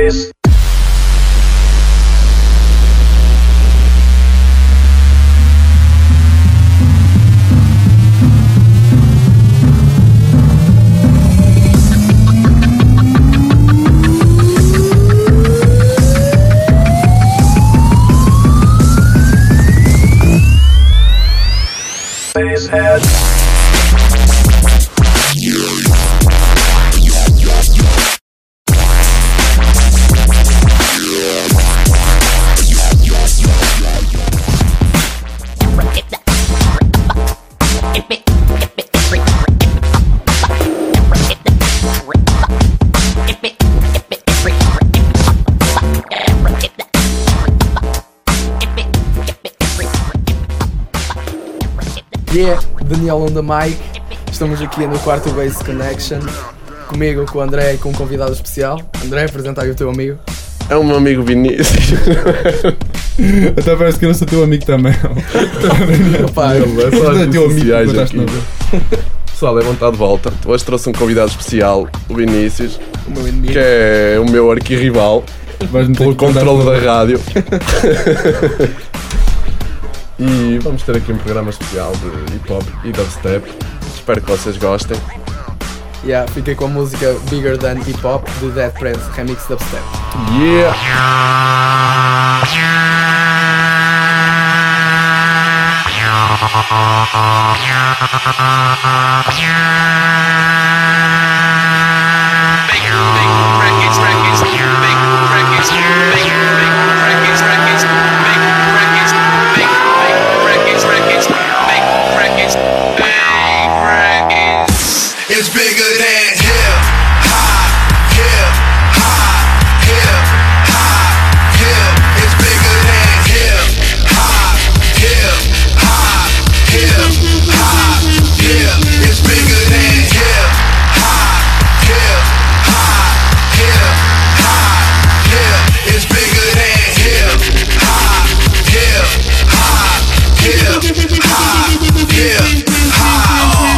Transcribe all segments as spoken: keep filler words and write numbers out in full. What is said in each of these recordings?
Space. Spacehead. Yeah, Daniel on the mic. Estamos aqui no quarto Base Connection. Comigo, com o André e com um convidado especial. André, apresenta aí o teu amigo. É o meu amigo Vinícius. Até parece que eu não sou teu amigo também. Opa, é só as teu amigo sociais que aqui. Pessoal, é bom estar de volta. Hoje trouxe um convidado especial, o Vinícius, o meu inimigo. que é o meu arquirrival pelo controle da rádio. E vamos ter aqui um programa especial de hip hop e dubstep. Espero que vocês gostem. Yeah, fiquei com a música Bigger Than Hip Hop de Dead Prez Remix Dubstep. Yeah! It's bigger than hip hop, hip hop, hip hop, hip. It's bigger than hip hop, hip hop, hip hop, hip. It's bigger than hip hop, hip hop, hip hop, hip. It's bigger than hip hop, hip hop, hip hop, hip hop.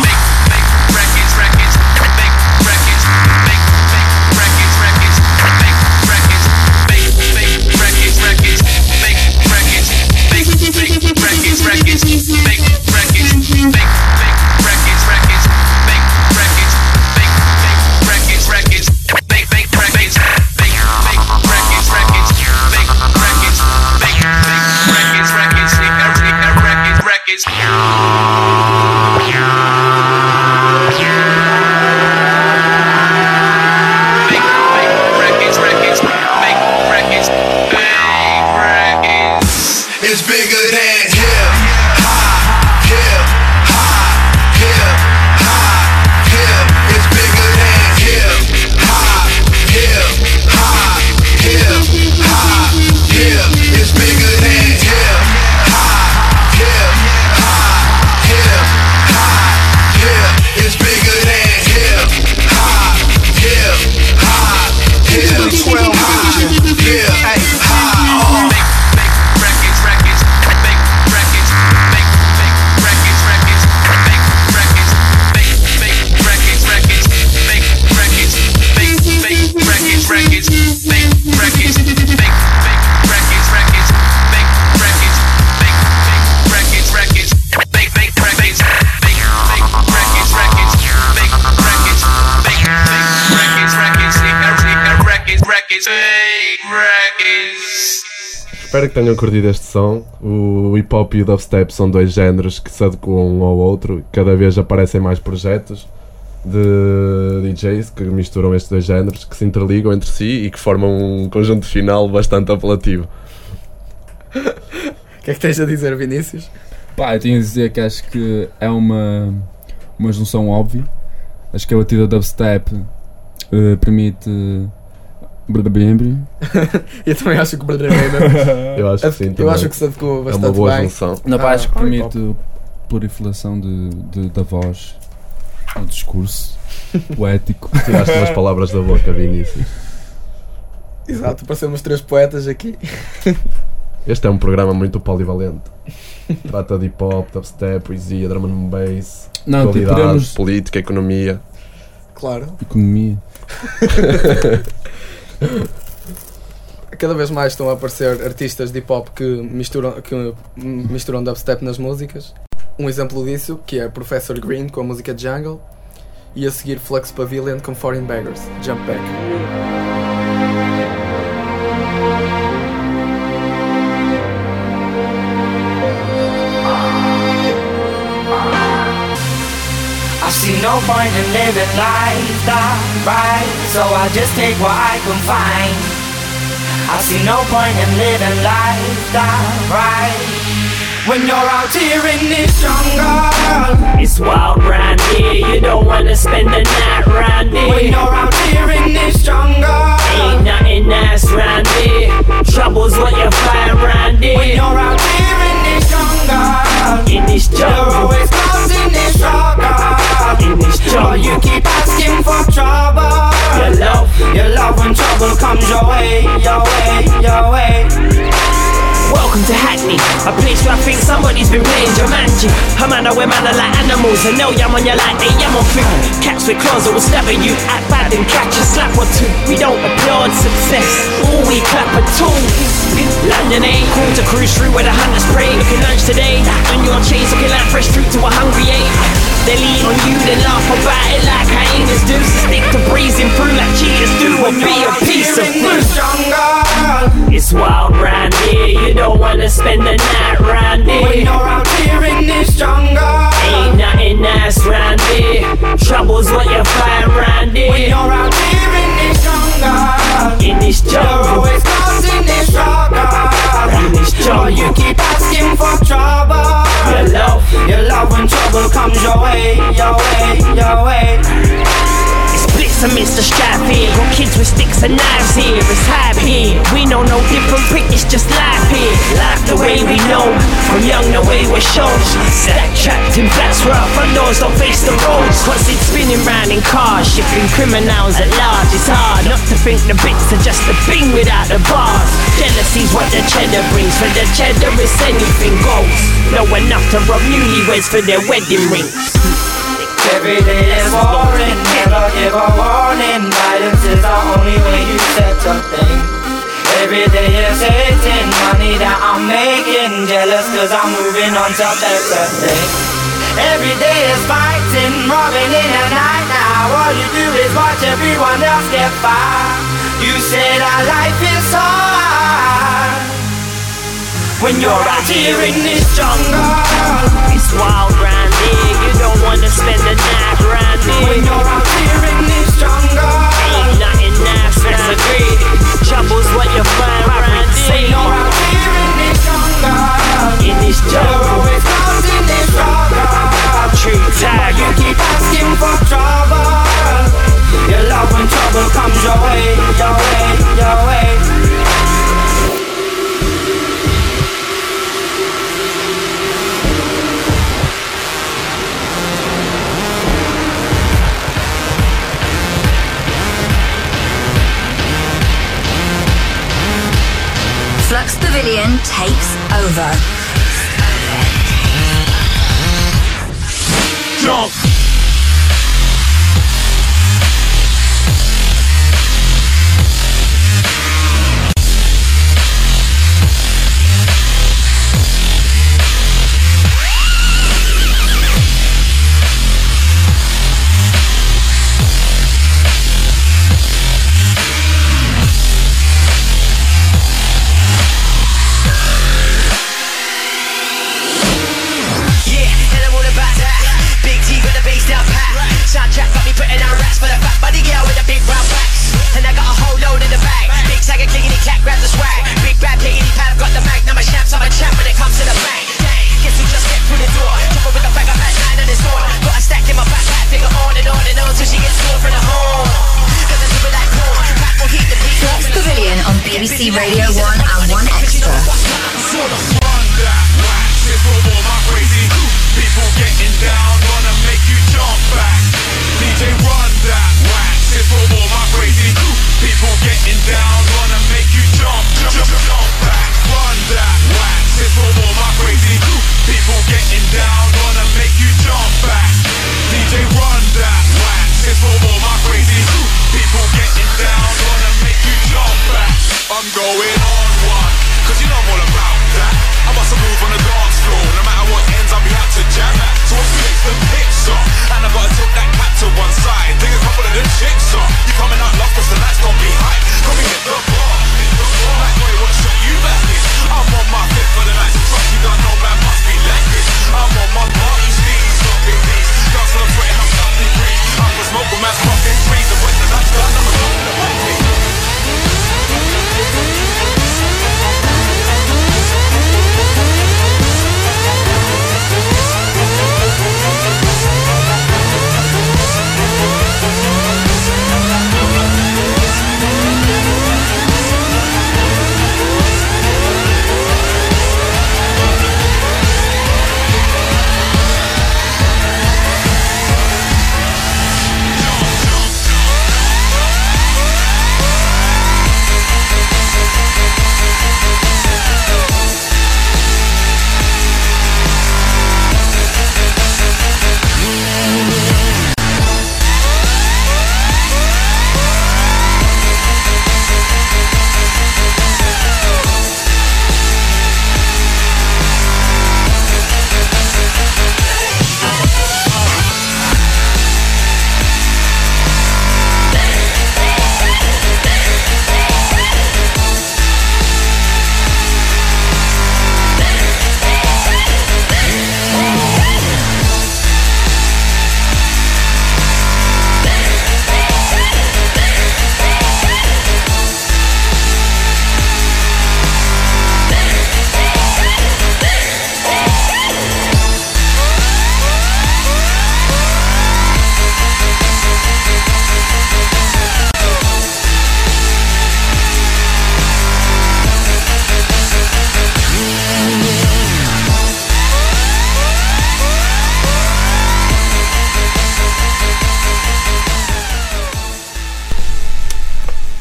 It's bigger than hip hop, hip hop, hip hop, hip. It's bigger than hip hop, hip hop, hip hop, hip. It's bigger than hip hop, hip hop, hip hop, hip. It's bigger than hip hop, hip hop, hip. Twelve hundred, hip hop. Espero que tenham curtido este som. O hip hop e o dubstep são dois géneros que se adequam um ao outro. Cada vez aparecem mais projetos de D Js que misturam estes dois géneros, que se interligam entre si e que formam um conjunto final bastante apelativo. O que é que tens a dizer, Vinícius? Pá, eu tenho a dizer que acho que é uma, uma junção óbvia. Acho que a batida dubstep uh, permite... Eu também acho que o Eu acho que sim, Eu acho que se adequou bastante bem. É uma boa junção. Não, pá, Ah, acho que ah, permite proliferação de, de, da voz, do discurso poético. Tiraste umas palavras da boca, Vinícius. Exato, parecemos três poetas aqui. Este é um programa muito polivalente. Trata de hip hop, dubstep, poesia, drum and bass, Não, atualidade, podemos... política, economia. Claro. Economia. cada vez mais estão a aparecer artistas de hip hop que misturam, que misturam dubstep nas músicas. Um exemplo disso, que é Professor Green com a música Jungle, e a seguir Flux Pavilion com Foreign Beggars, Jump Back. I see no point in living life that right, so I just take what I can find. I see no point in living life that right. When you're out here in this jungle, it's wild round here, you don't wanna spend the night round here. when you're out here in this jungle, Ain't nothing nice round here, trouble's what you find round here. when you're out here in this jungle, In this you're jungle, always causing this struggle. in this But you jungle, keep asking for trouble. your love. Your love when trouble comes your way, your way, your way. Welcome to Hackney, a place where I think somebody's been playing Jumanji. A man, I wear man are like animals, and no yam on you like they yam on food. Cats with claws that will stab at you, act bad and catch a slap or two. We don't applaud success, all we clap at all. London ain't cool to cruise through where the hunters spray. Looking lunch today, on your chains looking like fresh fruit to a hungry ape. They lean on you, then laugh about it like hyenas do. So stick to breezing through like cheaters do, or be a piece of fruit. It's wild round here, you don't wanna spend the night round When here. you're out here in this jungle, Ain't nothing nice round here, trouble's what you find round when here. you're out here in this jungle, In this you're jungle, always causing this struggle. in this But you jungle, keep asking for trouble. your love. Your love when trouble comes your way, your way, your way. It's blitz amidst the strife here. Got kids with sticks and knives here. It's hype here. We know no different prick, it's just life here. Life the way we know. From young the way we're shown. Stack trapped in flats where our front doors don't face the roads. Constant spinning round in cars, shipping criminals at large. It's hard not to think the bits are just a thing without the bars. Jealousy's what the cheddar brings. For the cheddar is anything goes. Know enough to rob newlyweds for their wedding rings. Every day is boring, never give a warning. Violence is the only way you set a thing. Every day is hating, money that I'm making. Jealous cause I'm moving on to better things. Every day is fighting, robbing in the night now. All you do is watch everyone else get by. You say that life is so hard. When you're out here in this jungle, It's wild round here, you don't wanna spend the night round when here. you're out here in this jungle, Ain't nothing nice round here, trouble's what you find round when here. you're out here in this jungle, In this you're jungle, always causing this struggle. true But you tiger. keep asking for trouble. Your love when trouble comes your way, your way, your way. Flux Pavilion takes over. Jump. Soundtrack got me putting on racks for the fat body girl with the big brown backs. And I got a whole load in the bag. Big tiger clickety clack, grab the swag. Big bad piggity pad, got the mag. Now my champs, I'm a champ when it comes to the bang. Guess who just stepped through the door? Jumper with a bag of fat nine on his door. Got a stack in my backpack, figure on and on and on till she gets sore from the horn. Cause I do it like corn. Pack will heat the beat. Flux Pavilion on B B C Radio one and one Extra. Sort of run that wax. It's for all my crazy people getting down, gonna make you jump back. D J run that wax. It's for all my crazy people getting down, gonna make you jump, jump, jump, jump back. Run that wax. It's for all my crazy people getting down, gonna make you jump back. D J run that wax. It's for all my crazy people getting down, gonna make you jump back. I'm going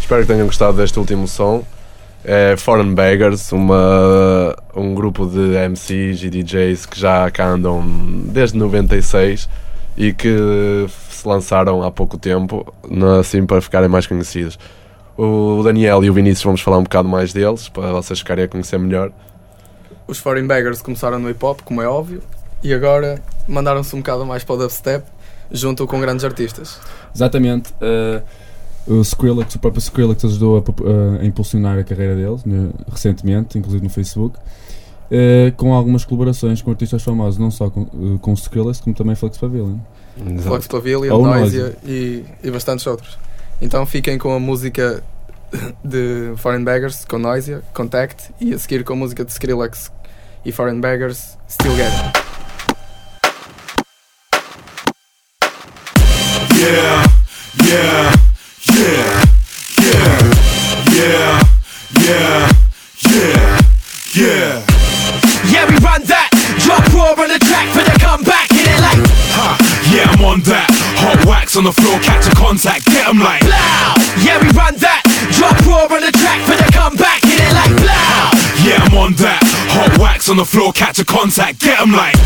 Espero que tenham gostado deste último som. É Foreign Beggars, uma, um grupo de M Cs e D Js que já cá andam desde noventa e seis e que se lançaram há pouco tempo, assim para ficarem mais conhecidos. O Daniel e o Vinícius vamos falar um bocado mais deles, para vocês ficarem a conhecer melhor. Os Foreign Beggars começaram no hip-hop, como é óbvio, e agora mandaram-se um bocado mais para o dubstep, junto com grandes artistas. Exatamente. Uh, o Skrillex, o próprio Skrillex ajudou a, a impulsionar a carreira deles, né, recentemente, inclusive no Facebook, uh, com algumas colaborações com artistas famosos, não só com, uh, com o Skrillex, como também Flex Pavilion. Flex Pavilion, Ou Noisia e, e bastantes outros. Então fiquem com a música de Foreign Beggars, com Noisia, Contact, e a seguir com a música de Skrillex e Foreign Beggars, Still Get It. Yeah, yeah, yeah, yeah, yeah, yeah, yeah, yeah. Yeah, we run that. Drop raw on the track for the comeback. Hit it like, Ha, yeah, I'm on that. Hot wax on the floor, catch a contact, get 'em like blow. Yeah, we run that. Drop raw on the track for the comeback. Hit it like, blow. Yeah, I'm on that. Hot wax on the floor, catch a contact, get 'em like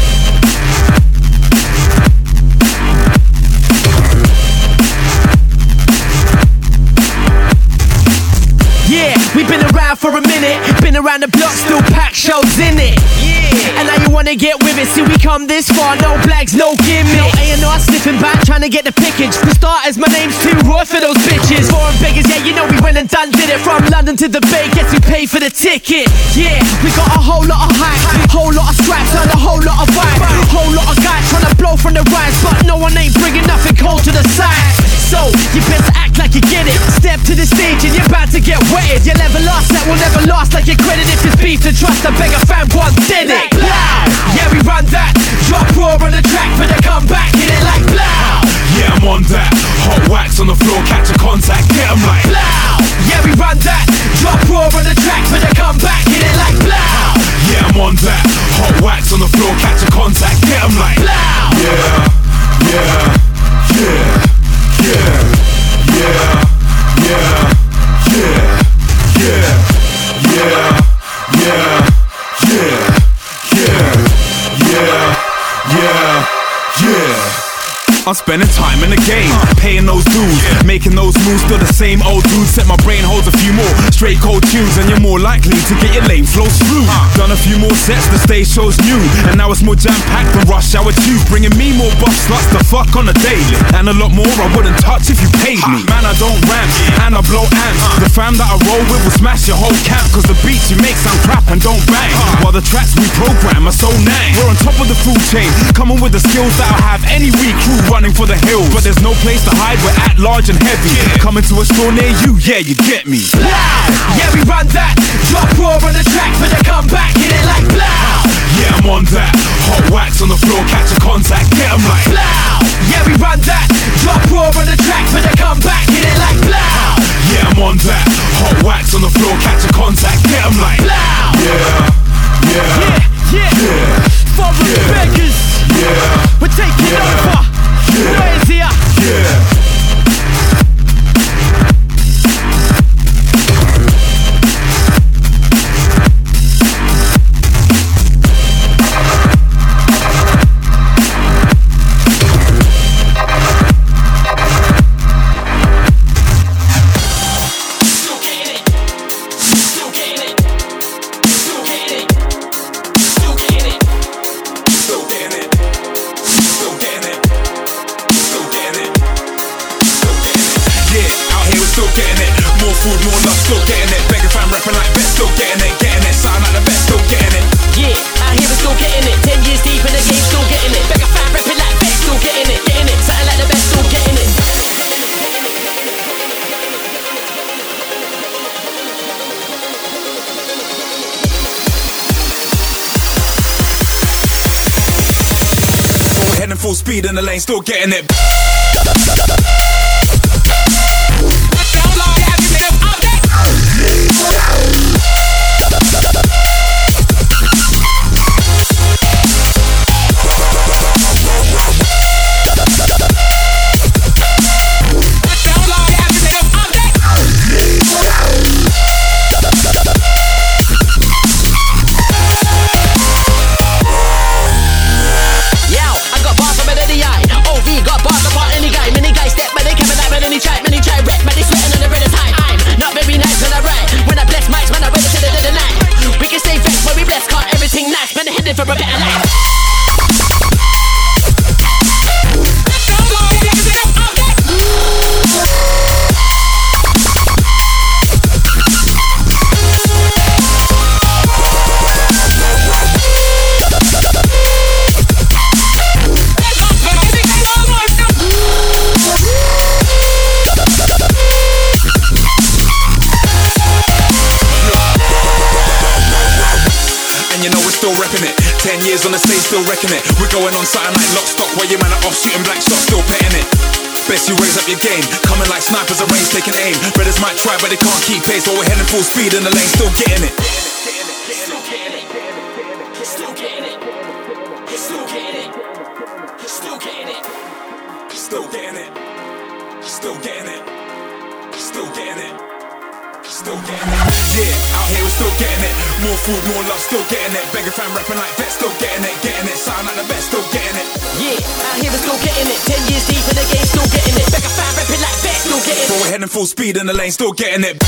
yeah, we been around for a minute. Been around the block, still pack shows in it. Yeah, and now you wanna get with it. See, we come this far, no blags, no gimmicks. No A and R sniffing back, trying to get the pickage. For starters, my name's too raw for those bitches. Foreign beggars, yeah, you know we went and done did it. From London to the Bay, guess we paid for the ticket. Yeah, we got a whole lot of hype, whole lot of scraps, and a whole lot of vibe. Whole lot of guys trying to blow from the rise, but no one ain't bringing nothing cold to the side. So, you better act like you get it. Step to the stage and you're about to get wetted. You'll never last, that will never last like your credit. If it's beef to trust, I beg a fan once did it. Blow. Yeah, we run that. Drop raw on the track for the comeback. Hit it like blow. yeah, I'm on that. Hot wax on the floor, catch a contact, get 'em like Blow. Yeah, we run that. Drop raw on the track for the comeback. Hit it like blow. yeah, I'm on that. Hot wax on the floor, catch a contact, get 'em like Blow. yeah, yeah, yeah. Yeah, yeah, yeah, yeah, yeah, yeah, yeah, yeah, yeah, yeah, yeah, yeah. I'm spending time in the game, paying those dues, making those moves, still the same old dude. Set my brain holds a few more straight cold tunes, and you're more likely to get your lane flows through. Done a few more sets, the stage show's new, and now it's more jam-packed than rush hour tube, bringing me more buff sluts to fuck on a daily, and a lot more I wouldn't touch if you paid me. Man, I don't rant, and I blow amps. The fam that I roll with will smash your whole camp, cause the beats you make sound crap and don't bang, while the tracks we program are so nang. We're on top of the food chain, coming with the skills that'll have any weak crew running for the hills, but there's no place to hide, we're at large and heavy. Coming to a store near you, yeah, you get me. Blow. Yeah, we run that. Drop raw on the track for the comeback. Hit it like blow. Yeah, I'm on that. Hot wax on the floor, catch a contact, get 'em like blow. Yeah, we run that. Drop raw on the track for the comeback. Hit it like blow. yeah, I'm on that. Hot wax on the floor, catch a contact, get 'em like blow. yeah, yeah, Yeah, yeah, yeah, Foreign yeah. beggars. yeah, We're taking Yeah. over. Yeah. Where's here? yeah. Heading full speed in the lane, still getting it. Ten years on the stage, still wrecking it. We're going on something like lock stock, while your man are off shooting black shots, still petting it. Best you raise up your game, coming like snipers at range, taking aim. Brothers might try, but they can't keep pace, while we're heading full speed in the lane, still getting it. Still getting it. Still getting it. Still getting it. Still getting it. Still getting it. Still getting it. Still getting it. Still getting it. Yeah, out here we're still getting it. More food, more love, still getting it. Beggar fan rapping like that, still getting it. Getting it, sound like the best, still getting it. Yeah, out here we're still getting it. Ten years deep in the game, still getting it. Beggar fan rapping like that, still getting it. But we're heading full speed in the lane, still getting it.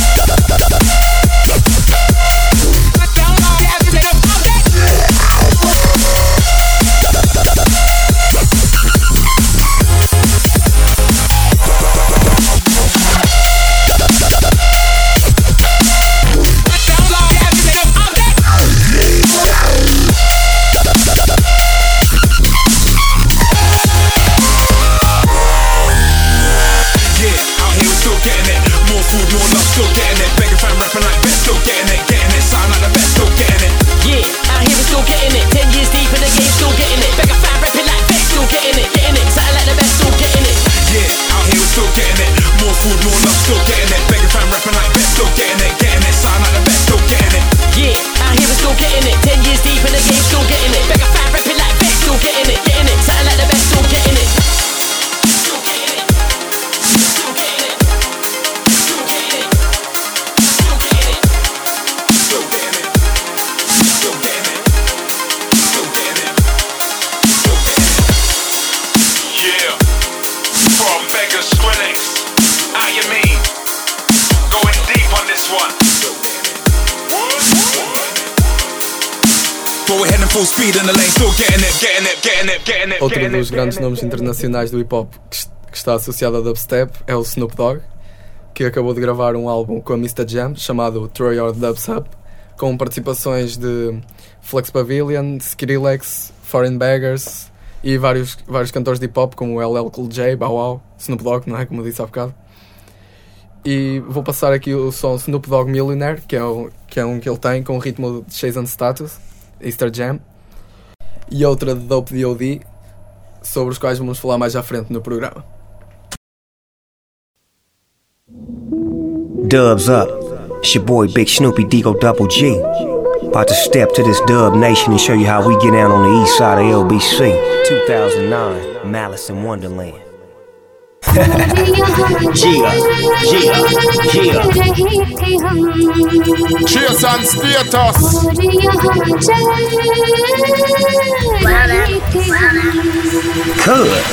Outro dos grandes nomes internacionais do hip hop que, que está associado ao dubstep é o Snoop Dogg, que acabou de gravar um álbum com a mister Jam chamado Throw Your Dubs Up, com participações de Flex Pavilion, Skrillex, Foreign Beggars e vários, vários cantores de hip hop como L L Cool J, Bow Wow, Snoop Dogg, não é? Como eu disse há bocado. E vou passar aqui o som Snoop Dogg Millionaire, que é, o, que é um que ele tem com o ritmo de Chase and Status, Easter Jam, e outra de Dope D O D, sobre os quais vamos falar mais à frente no programa. Dubs up, it's your boy Big Snoopy Digo Double G. About to step to this dub nation and show you how we get down on the east side of L B C. two thousand nine, Malice in Wonderland. Gia, Gia, Gia. Chase and status. Good.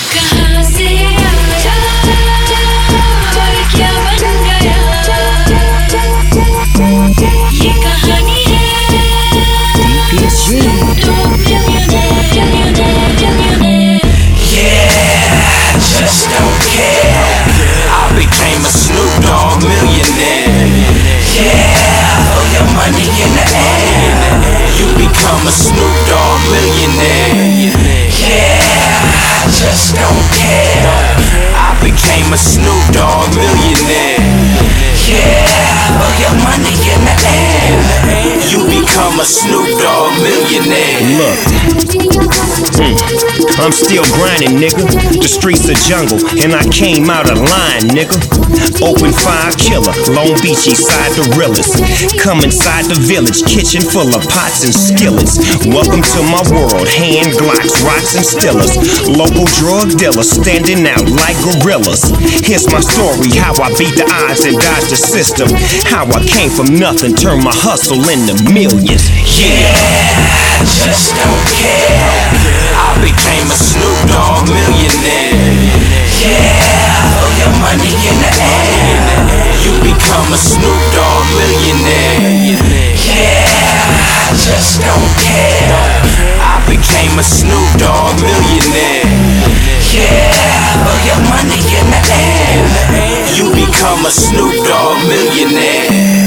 Yeah, just don't care. I became a Snoop Dogg millionaire. Yeah, throw your money in the air. You become a Snoop Dogg millionaire. Yeah, just don't care. I became a Snoop Dogg millionaire. Yeah, throw your money in the air. You become a Snoop Dogg millionaire. Look, mm, I'm still grinding, nigga. The streets are jungle, and I came out of line, nigga. Open fire killer, Long Beach East side the realest. Come inside the village, kitchen full of pots and skillets. Welcome to my world, hand glocks, rocks and stillers. Local drug dealers standing out like gorillas. Here's my story, how I beat the odds and dodged the system. How I came from nothing, turned my hustle into millions. Yeah, just don't care. I became a Snoop Dogg millionaire. Yeah, throw your money in the air. You become a Snoop Dogg millionaire. Yeah, just don't care. I became a Snoop Dogg millionaire. Yeah, throw your money in the air. You become a Snoop Dogg millionaire.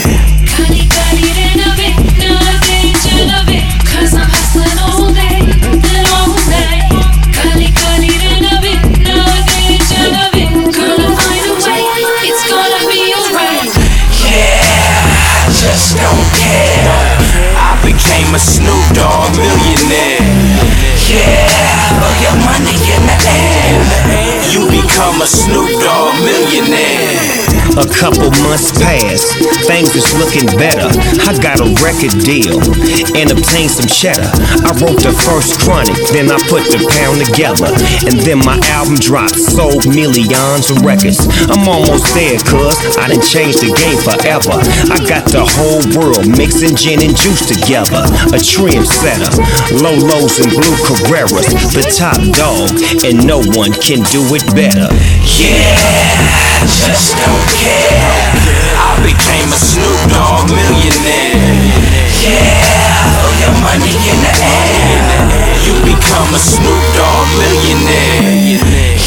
Cause I'm hustling all day and all night. Kali kali rena bit, nowadays I love it. Gonna find a way, it's gonna be alright. Yeah, just don't care. I became a Snoop Dogg millionaire. Yeah, put your money in the air. You become a Snoop Dogg millionaire. A couple months passed, things was looking better. I got a record deal and obtained some cheddar. I wrote the first Chronic, then I put the pound together. And then my album dropped, sold millions of records. I'm almost there, cuz I done changed the game forever. I got the whole world mixing gin and juice together. A trendsetter, Lolos and blue Carreras, the top dog, and no one can do it better. Yeah, just don't care. I became a Snoop Dogg millionaire. Yeah, throw your money in the air. You become a Snoop Dogg millionaire.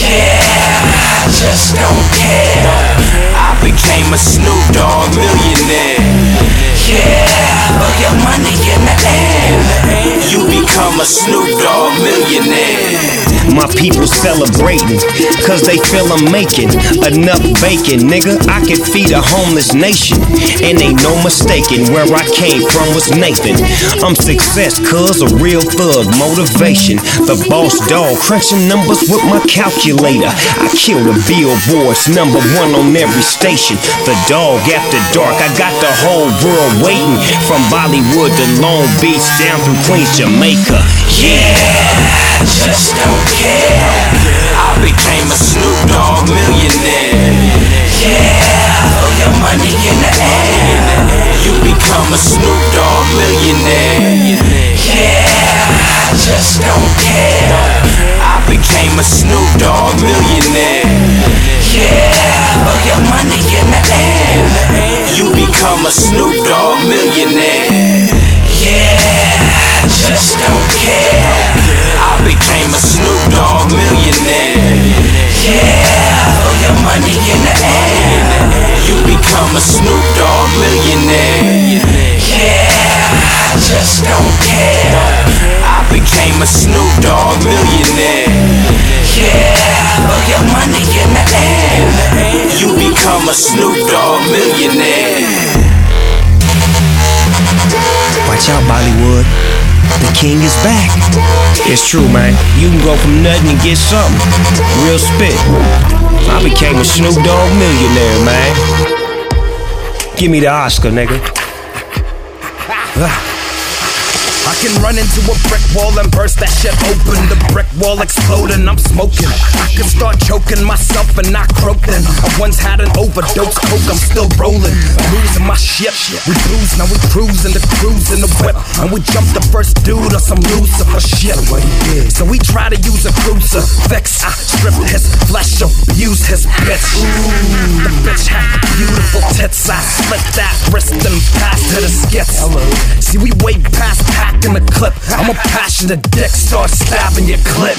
Yeah, just don't care. I became a Snoop Dogg millionaire. Yeah, throw your money in the air. You become a Snoop Dogg millionaire. My people celebrating, cause they feel I'm making enough bacon, nigga. I could feed a homeless nation, and ain't no mistaking where I came from was Nathan. I'm success, cuz a real thug, motivation. The boss dog, crunching numbers with my calculator. I kill the billboards, number one on every station. The dog after dark, I got the whole world waiting. From Bollywood to Long Beach, down through Queens, Jamaica. Yeah, just don't care. I became a Snoop Dogg millionaire. Yeah, throw your money in the air. You become a Snoop Dogg millionaire. Yeah, just don't care. I became a Snoop Dogg millionaire. Yeah, throw your money in the air. You become a Snoop Dogg millionaire. Yeah, just don't care. I became a Snoop Dogg millionaire. Yeah, throw your money in the air. You become a Snoop Dogg millionaire. Yeah, just don't care. I became a Snoop Dogg millionaire. Yeah, throw your money in the air. You become a Snoop Dogg millionaire. Watch out, Bollywood. The king is back. It's true, man. You can go from nothing and get something. Real spit. I became a Snoop Dogg millionaire, man. Give me the Oscar, nigga. I can run into a brick wall and burst that shit open. The brick wall exploding, I'm smoking. I can start choking myself and not croaking. I once had an overdose, coke, I'm still rolling. I'm losing my shit, we booze, now we cruising the cruise in the whip. And we jump the first dude on some Lucifer shit. So we try to use a crucifix. I stripped his flesh, abused his bitch. Ooh, the bitch had beautiful tits. I slit that wrist and passed her the skits. See, we way past pack in the clip. I'm a passionate dick, start stabbing your clip.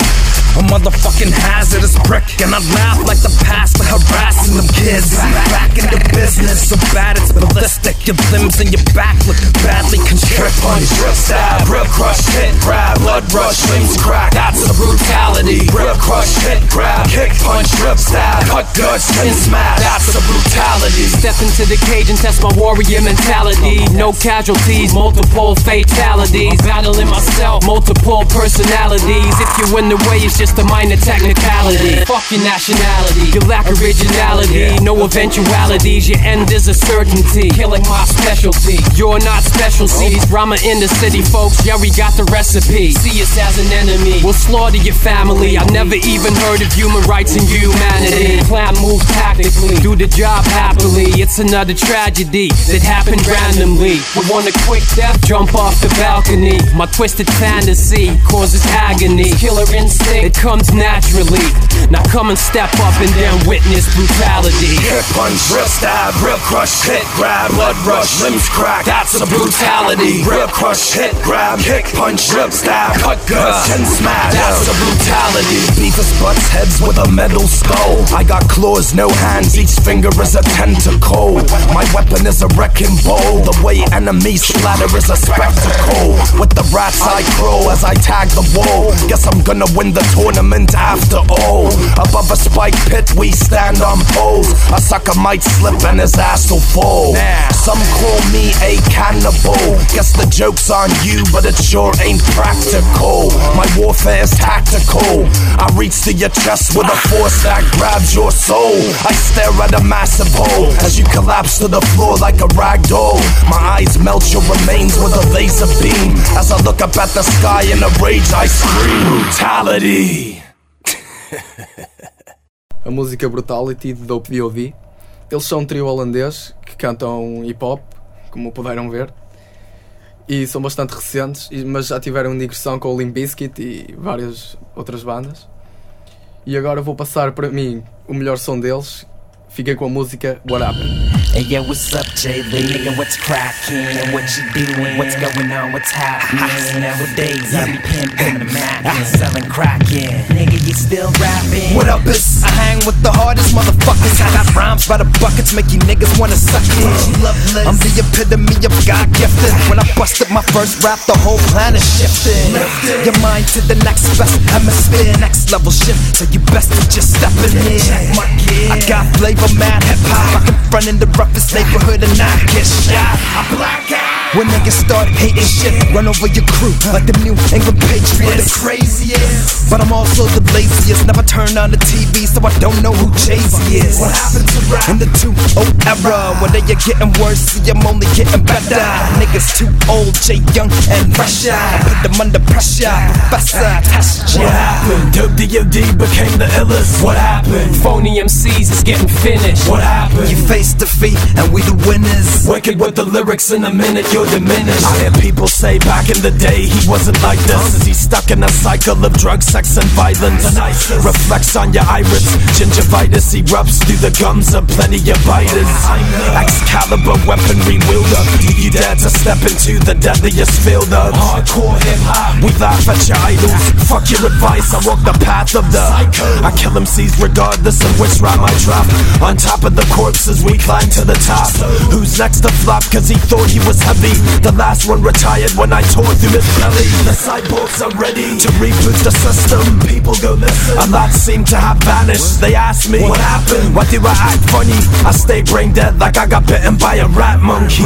A motherfucking hazardous prick, and I laugh like the pastor harassing them kids. Back in the business, so bad it's ballistic. Your limbs and your back look badly constrict. Punch, drip, stab, rip, crush, hit, grab, blood rush, limbs crack. That's the brutality. Rip, crush, hit, grab, kick, punch, drip, stab, cut guts, skin smash. That's the brutality. Step into the cage and test my warrior mentality. No casualties, multiple fatalities. Battling myself, multiple personalities. If you in the way, it's just a minor technicality. Fuck your nationality, you lack originality. No eventualities, your end is a certainty. Killing my specialty, you're not special. See these drama in the city, folks. Yeah, we got the recipe. See us as an enemy, we'll slaughter your family. I never even heard of human rights and humanity. Plan moves tactically, do the job happily. It's another tragedy that happened randomly. We want a quick death, jump off the balcony. My twisted fantasy causes agony. Killer instinct, it comes naturally. Now come and step up and then witness brutality. Hit, punch, rip, stab, rip, crush, hit, grab, blood rush, limbs crack. That's the brutality. Rip, crush, hit, grab, kick, punch, rip, stab, cut guts, and smash. That's the brutality. Beavis butts heads with a metal skull. I got claws, no hands, each finger is a tentacle. My weapon is a wrecking ball. The way enemies splatter is a spectacle. With the rats I crow as I tag the wall. Guess I'm gonna win the tour. tournament after all. Above a spike pit we stand on poles. A sucker might slip and his ass will fall. Some call me a cannibal. Guess the joke's on you, but it sure ain't practical. My warfare is tactical. I reach to your chest with a force that grabs your soul. I stare at a massive hole as you collapse to the floor like a rag doll. My eyes melt your remains with a laser beam. As I look up at the sky in a rage I scream brutality. A música Brutality de Dope D O D. Eles são um trio holandês que cantam hip hop, como puderam ver, e são bastante recentes, mas já tiveram digressão com o Limp Bizkit e várias outras bandas. E agora vou passar para mim o melhor som deles. Fiquem com a música What Happened. Hey yo, what's up, J Lee? Nigga, what's crackin'? What you doing? What's going on? What's happening? Nowadays, I be pimpin' the Mac and selling crackin'. Nigga, you still rapping? What up, is? I hang with the hardest motherfuckers. I got rhymes by the buckets, make you niggas wanna suck it. I'm the epitome of God gifted. When I busted my first rap, the whole planet shifted. Your mind to the next best hemisphere, next level shit. So you best to just step in here. I got flavor, mad hip hop. I can front in the roughest neighborhood and not get shot. I black out. When niggas start hating shit, run over your crew like the New England Patriots. The craziest, but I'm also the laziest. Never turn on the T V, so I don't know who Jay-Z is. What happened to rap in the two oh era? When they are getting worse, see I'm only getting better. Niggas too old, Jay Young and fresher. Put them under pressure, Professor, test ya. What happened? Dope D O D became the illest. What happened? Phony M Cs is getting finished. What happened? You face defeat and we the winners. Wicked with the lyrics in a minute, you're diminished. I hear people say back in the day he wasn't like this. Is he stuck in a cycle of drugs, sex and violence? Reflects on your iris. Gingivitis erupts through the gums of plenty of biters. Excalibur weaponry wielder. Do you dare to step into the deadliest field of hardcore hip hop? We laugh at your idols. Fuck your advice, I walk the path of the psycho. I kill M Cs regardless of which rhyme I drop. On top of the corpses we climb to the top. Who's next to flop cause he thought he was heavy? The last one retired when I tore through his belly. The cyborgs are ready to reboot the system. People go listen. A lot seem to have vanished. They ask me what happened? Why do I act funny? I stay brain dead like I got bitten by a rat monkey.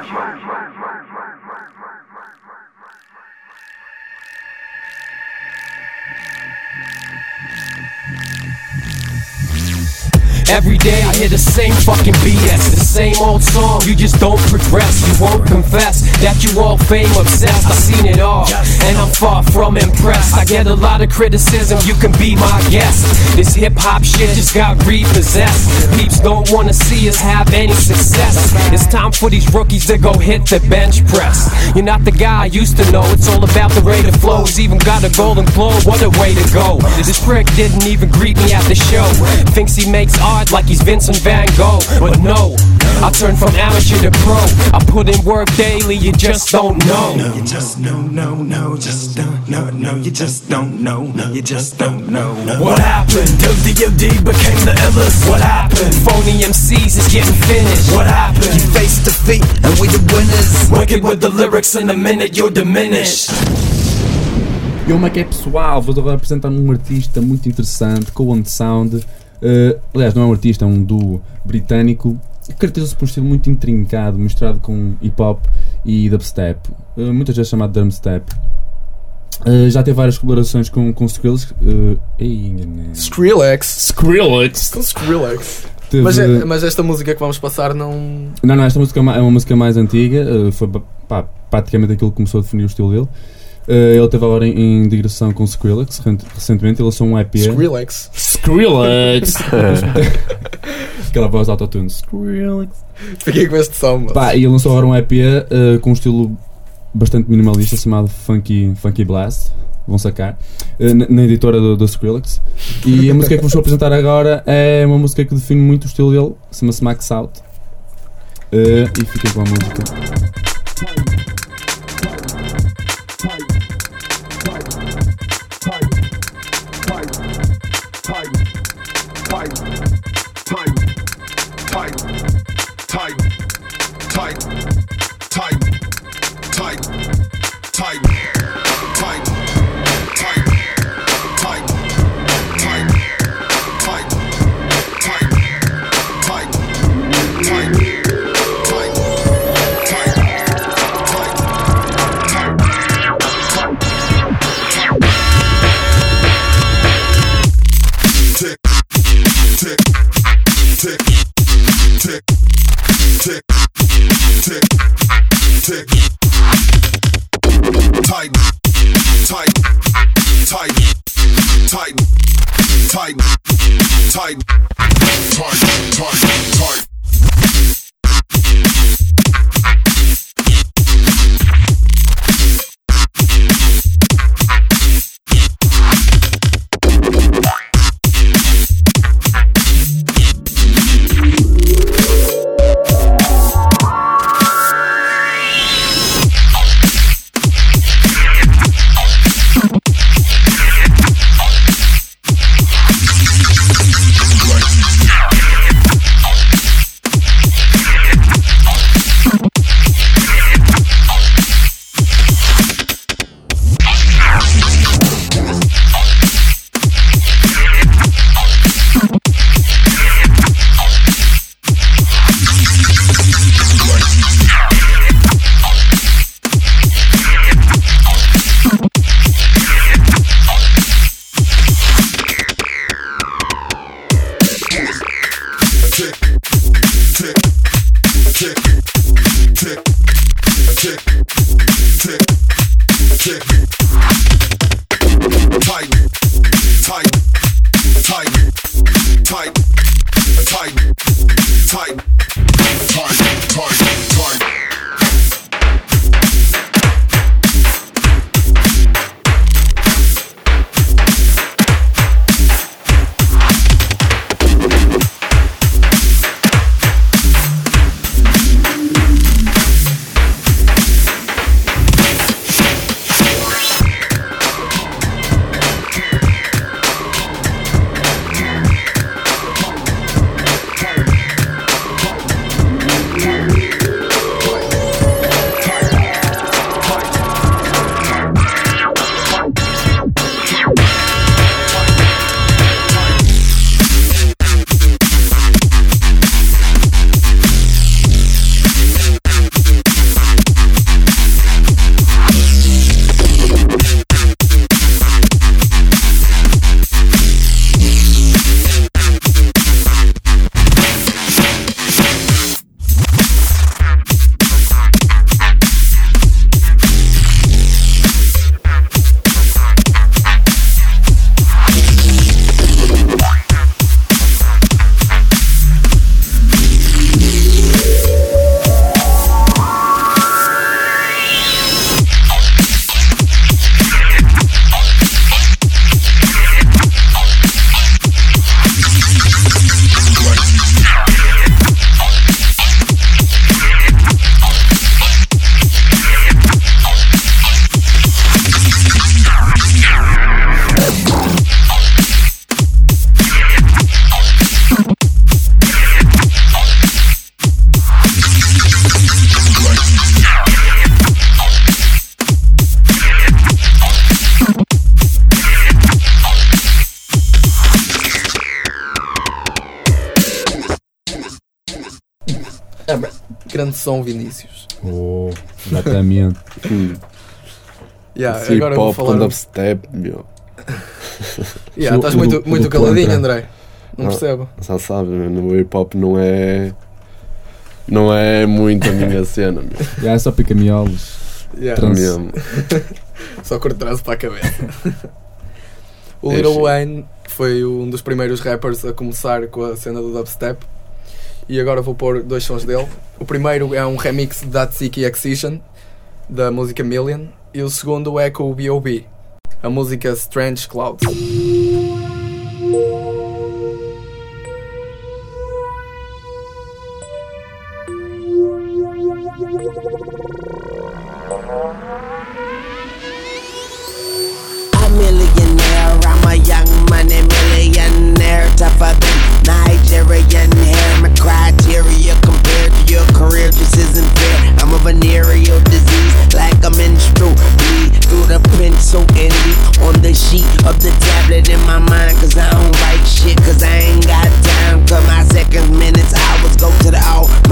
Every day I hear the same fucking B S, the same old song, you just don't progress. You won't confess that you all fame obsessed. I've seen it all, and I'm far from impressed. I get a lot of criticism, you can be my guest. This hip hop shit just got repossessed. Peeps don't wanna see us have any success. It's time for these rookies to go hit the bench press. You're not the guy I used to know, it's all about the rate of flows. Even got a golden globe, what a way to go. This prick didn't even greet me at the show. Thinks he makes art like he's Vincent Van Gogh, but no, I turned from amateur to pro. I put in work daily, you just don't know. No, you just no, no, no, just don't know. No, you just don't know. No, you just don't know. What happened? Dope D O D became the illest. What happened? Phony M Cs is getting finished. What happened? You face defeat and we the winners. Wicked with the lyrics in a minute, you're diminished. E como é que é, pessoal? Vou agora apresentar um artista muito interessante, Cohen Sound. Uh, aliás, não é um artista, é um duo britânico que caracteriza-se por um estilo muito intrincado, misturado com hip hop e dubstep, uh, muitas vezes chamado drumstep. Uh, já teve várias colaborações com, com Skrillex. Uh, ei, Skrillex. Skrillex. Com Skrillex. Teve... Mas, mas esta música que vamos passar não. Não, não, esta música é uma, é uma música mais antiga, uh, foi pá, praticamente aquilo que começou a definir o estilo dele. Uh, ele esteve agora em, em digressão com Skrillex recentemente, ele lançou um E P. Skrillex. Skrillex! Aquela voz de autotune. Skrillex. Fiquei com este som. Pá, e ele lançou agora um E P uh, com um estilo bastante minimalista chamado Funky, Funky Blast. Vão sacar. Uh, na, na editora do, do Skrillex. E a música que vos vou apresentar agora é uma música que define muito o estilo dele. Chama-se Max Out. Uh, e fiquem com a música. Tight, tight, tight, tight, tight, tight, Grande som, Vinícius. Oh, exatamente. yeah, Esse agora vou hip-hop falar com dubstep, meu. yeah, estás muito, do, muito do caladinho, contra. André. Não, Não, percebo. Já sabes, no hip-hop não é... Não é muito a minha cena, meu. Yeah, é só pica-miolos. Yeah. Mesmo. Só cortar-se para a cabeça. O É Lil sim. Wayne foi um dos primeiros rappers a começar com a cena do dubstep. E agora vou pôr dois sons dele. O primeiro é um remix da Tsiki Excision, da música Million. E o segundo é com o B O B, a música Strange Clouds. A millionaire, I'm a young money millionaire, tougher than Nigerian hair. My criteria compared to your career just isn't fair. I'm a venereal disease, like a menstrual bleed through the pencil envy on the sheet of the tablet in my mind. Cause I don't write shit, cause I ain't got time. Cause my seconds, minutes, hours go to the all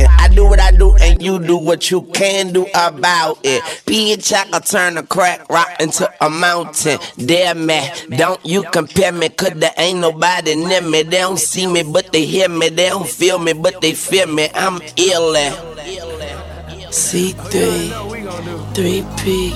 shouting. I do what I do and you do what you can do about it. Bitch, I can turn a crack rock into a mountain. Damn me, don't you compare me, cause there ain't nobody near me. They don't see me, but they hear me. They don't feel me, but they feel me. I'm ill at C three, three P.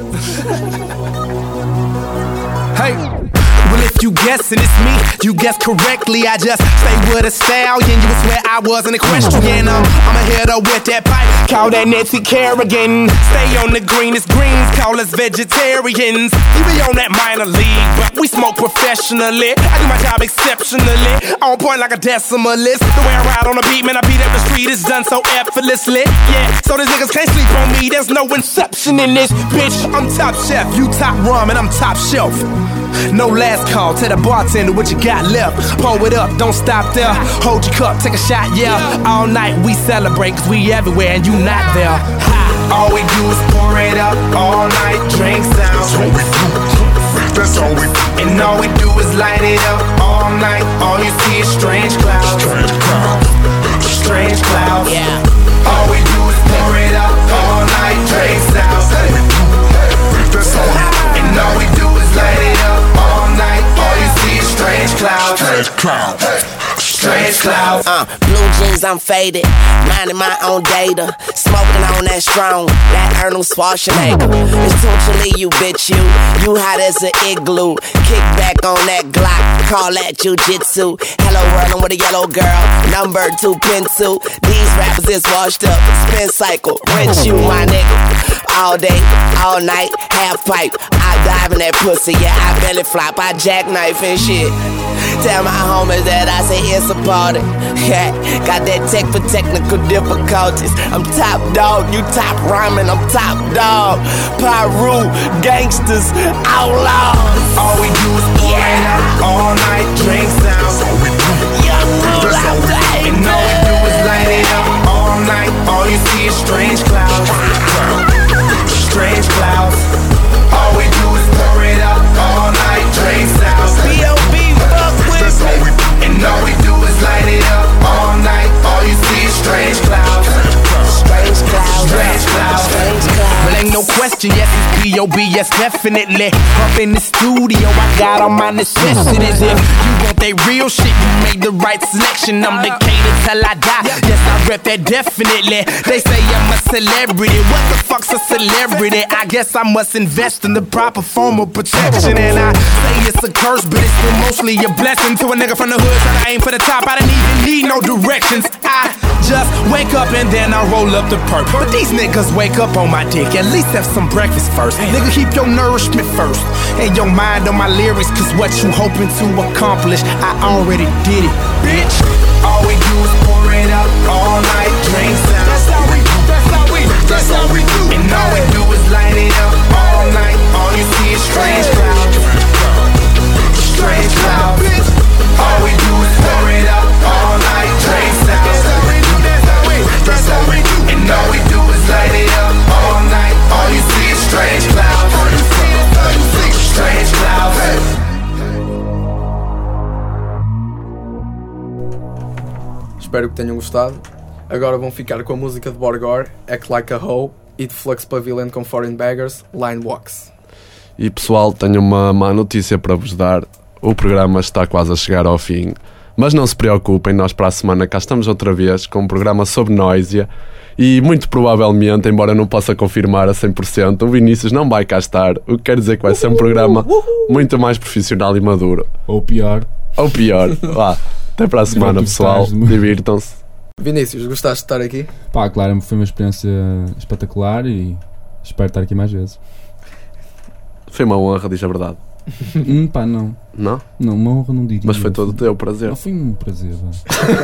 Hey, well if you guessing it's me, you guess correctly. I just stay with a stallion. You would swear I was an equestrian. Um, I'm a header with that pipe, call that Nancy Kerrigan. Stay on the greenest greens, call us vegetarians. You be on that minor league, but we smoke professionally. I do my job exceptionally, on point like a decimalist. The way I ride on the beat, man, I beat up the street is done so effortlessly. Yeah, so these niggas can't sleep on me. There's no inception in this, bitch. I'm top chef, you top rum, and I'm top shelf. No last call, tell the bartender what you got left. Pour it up, don't stop there. Hold your cup, take a shot, yeah. All night we celebrate, cause we everywhere and you not there. Ha. All we do is pour it up, all night drinks down. That's all we do, that's all we do. And all we do is light it up, all night. All you see is strange clouds. Strange clouds, strange clouds. Yeah. All we do is pour it up, all night drinks down. That's all we do, that's all we do. And all we do is light it up all night. All you see is strange clouds. Strange clouds. Strange clouds. Uh, blue jeans, I'm faded. Minding my own data. Smoking on that strong. That Arnold Schwarzenegger. Essentially, you bitch, you. You hot as an igloo. Kick back on that Glock. Call that jujitsu. Hello world, I'm with a yellow girl. Number two pencil. These rappers is washed up. Spin cycle. Rinse you, my nigga. All day, all night, half pipe. I dive in that pussy, yeah, I belly flop, I jackknife and shit. Tell my homies that I say it's a party. Yeah, got that tech for technical difficulties. I'm top dog, you top rhyming, I'm top dog. Pyru, gangsters, outlaws. All we do is pour it up all night, drinks down. That's all we do. Young rule out there. And all we do is light it up all night. All you see is strange clouds. Strange clouds. All we do is pour it up all night, drinks down. B O B, fuck with me. And all we do is light it up all night. All you see is strange clouds. Strange clouds. Strange clouds. Strange clouds. Well, ain't no question, yes, it's B O B, yes, definitely. Up in the studio, I got all my necessities. If you want that real shit, you made the right selection. I'm Decatur till I die, yes, I rep that definitely. They say I'm a celebrity, what the fuck's a celebrity? I guess I must invest in the proper form of protection. And I say it's a curse, but it's still mostly a blessing. To a nigga from the hood, trying to aim for the top, I didn't even need no directions. I just wake up and then I roll up the perk. But these niggas wake up on my dick, at least have some breakfast first. Nigga, keep your nourishment first and your mind on my lyrics, cause what you hoping to accomplish, I already did it, bitch. All we do is pour it up all night, drinks down. That's how we do, that's how we do, that's how we do. And all we do is light it up all night. All you see is strange clouds. Strange clouds. All we do is pour it up all night, drinks down. That's how we do, that's how we do, that's how we do. And all we do is light it up all night. All you see is strange clouds. Strange clouds. Espero que tenham gostado. Agora vão ficar com a música de Borgore, Act Like a Hoe, e de Flux Pavilion com Foreign Beggars, Line Walks. E pessoal, tenho uma má notícia para vos dar. O programa está quase a chegar ao fim. Mas não se preocupem, nós para a semana cá estamos outra vez com um programa sobre Noisia. E muito provavelmente, embora não possa confirmar a cem por cento, o Vinícius não vai cá estar. O que quer dizer que vai ser um programa muito mais profissional e maduro. Ou pior. Ou pior. Vá, até para a semana, pessoal. Divirtam-se. Vinícius, gostaste de estar aqui? Pá, claro, foi uma experiência espetacular e espero estar aqui mais vezes. Foi uma honra, diz a verdade. hum, pá, não. Não? Não, uma honra não diria. Mas foi todo o teu prazer. Não, foi um prazer, vá.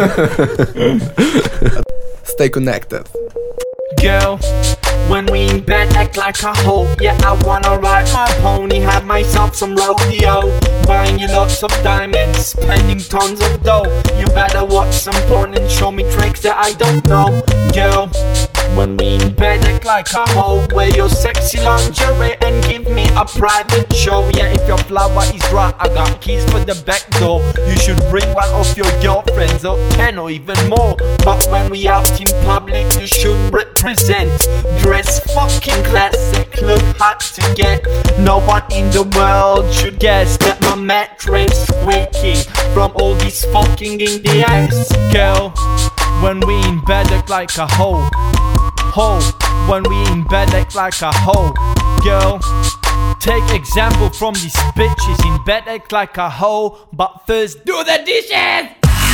Stay connected. Girl, when we in bed act like a hoe. Yeah, I wanna ride my pony, have myself some rodeo. Buying you lots of diamonds, spending tons of dough. You better watch some porn and show me tricks that I don't know. Girl, when we in bed act like a hoe. Wear your sexy lingerie and give me a private show. Yeah, if your flower is dry, I got keys for the back door. You should bring one of your girlfriends or ten or even more. But when we out in public, you should represent. Dress fucking classic, look hot to get. No one in the world should guess that my mattress squeaking from all these fucking in the ass. Girl, when we in bed act like a hoe. Hoe, when we in bed act like a hoe. Girl, take example from these bitches in bed act like a hoe. But first do the dishes.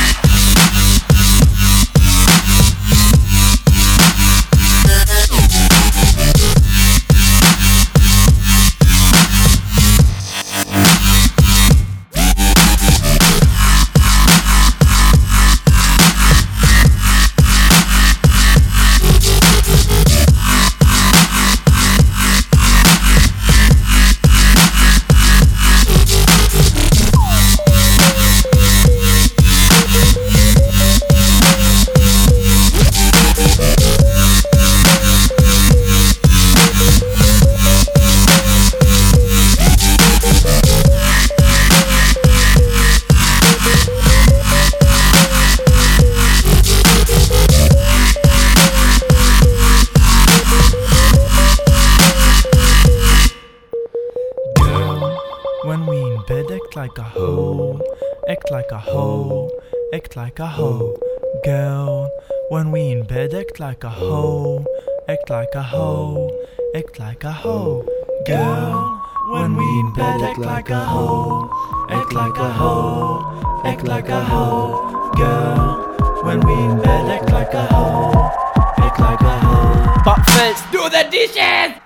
Like a hoe, act like a hoe, act like a hoe. Girl, when we in bed, act like a hoe, act like a hoe, act like a hoe. Girl, when we in bed, act like a hoe, act like a hoe, act like a hoe. Girl, when we in bed, act like a hoe, act like a hoe. But first, do the dishes!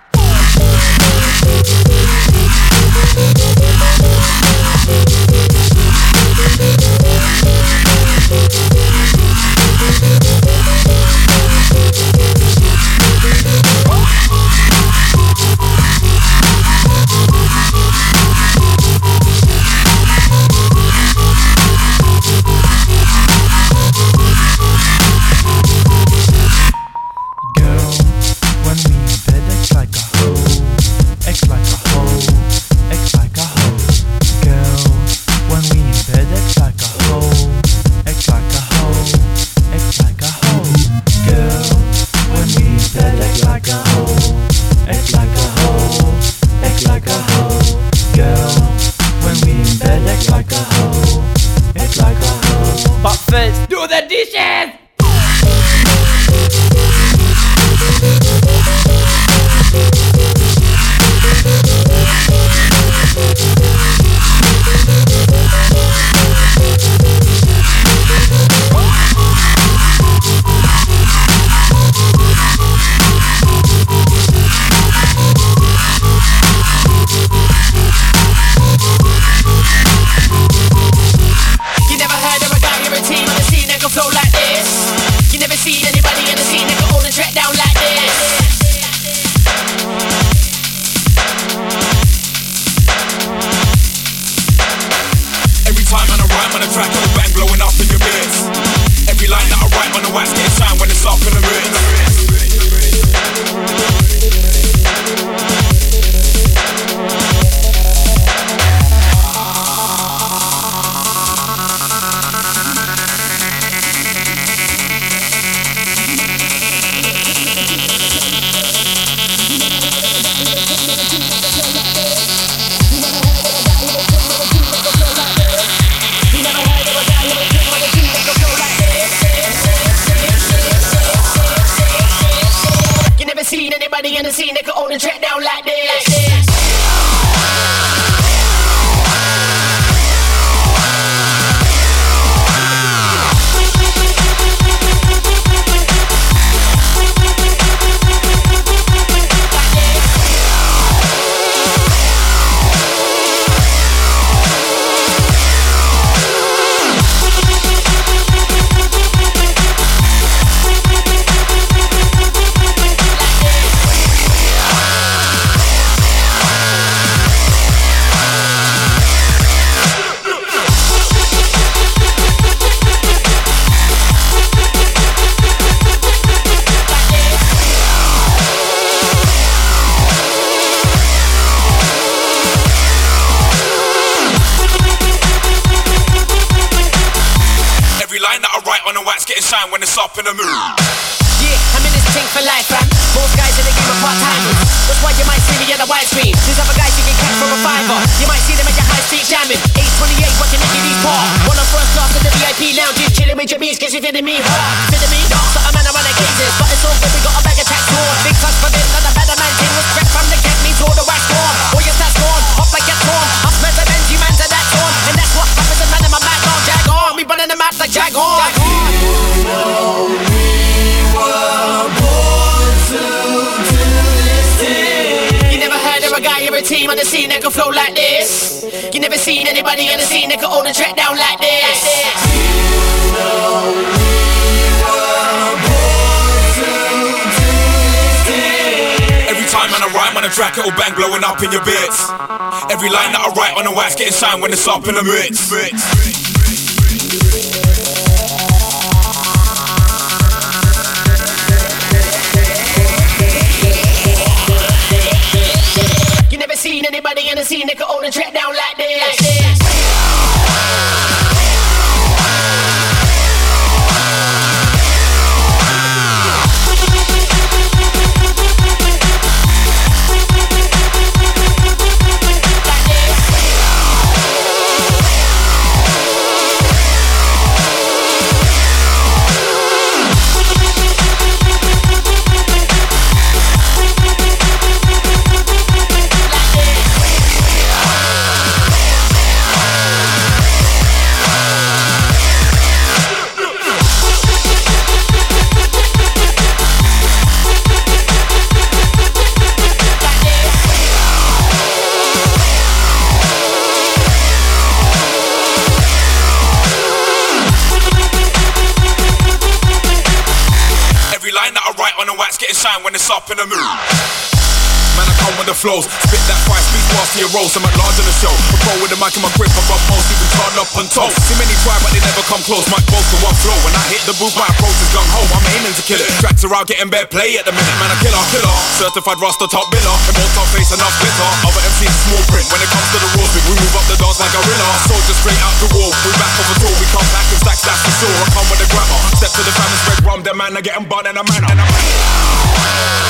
I write on the wax getting shine when it's up in the mood. Yeah, I'm in this thing for life, fam. Most guys in the game are part-timers. That's why you might see me at the widescreen. These other guys you can catch from a fiver. You might see them at your high street jamming. eight twenty-eight watching Nicky D's par. One on first class in the V I P lounges. Chilling with your beats cause you feeling me hard. Feeling me? No, so I'm man around the cases. But it's all good, we got a bag of tax on. Big touch for this, not a better man thing. Was prep from the get me to the wax storm. All your stats gone, hop like a torn. I'm smells of Benji, man to that torn. And that's what happens when man in my back on. Jag on, we running the map like Jag on. Jag on. A team on the scene that can flow like this. You never seen anybody on the scene that can hold a track down like this. You know we were born to do this. Every time man I rhyme on a track it'll bang blowing up in your bits. Every line that I write on the wax getting shine when it's up in the mix. Seen anybody in the scene that could hold a track down like this, like this. Shine when it's up in the mood. Man, I come with the flows, spit that fire, speak past to your rolls. I'm at large on the show. I roll with the mic in my grip, above most, even turn up and toe. See many try, but they never come close. Mic boast to one flow. When I hit the booth, my approach is gung ho. I'm aiming to kill it. Tracks are out, getting bare play at the minute. Man, I killer, killer. Certified roster, top biller. And both top face, enough glitter. Other M Cs, small print. When it comes to the rules, we move up the dance like gorilla. Soldiers straight out the wall. We back off a tour, we come back and stacks, that's for sure. I come with the grammar. Step to the fam and spread rum. Them man, I get them bun and a manner. And a manner.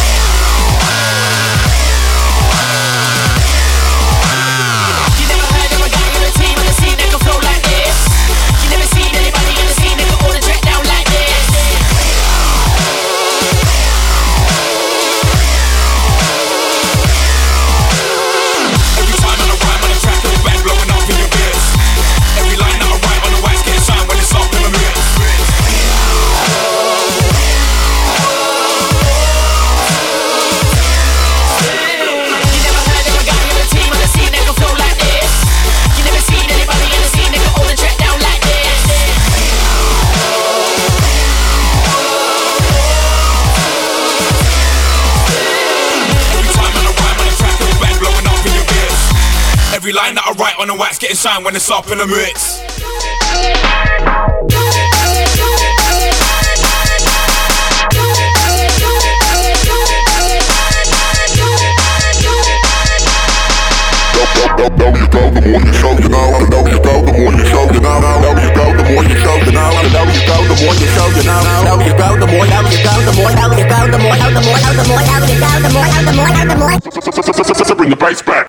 Every line that I write on the wax getting shine when it's up in the mix. Know you go, the more you show, you know. I know you go, the more you show, you know. I know you go, the more you show, you know. I know you go, the more you show, you know. I know you go, the more, know you go, the more, know you go, the more, know the more, know the more, know you go, the more, know the more, know the more. So bring the bass back.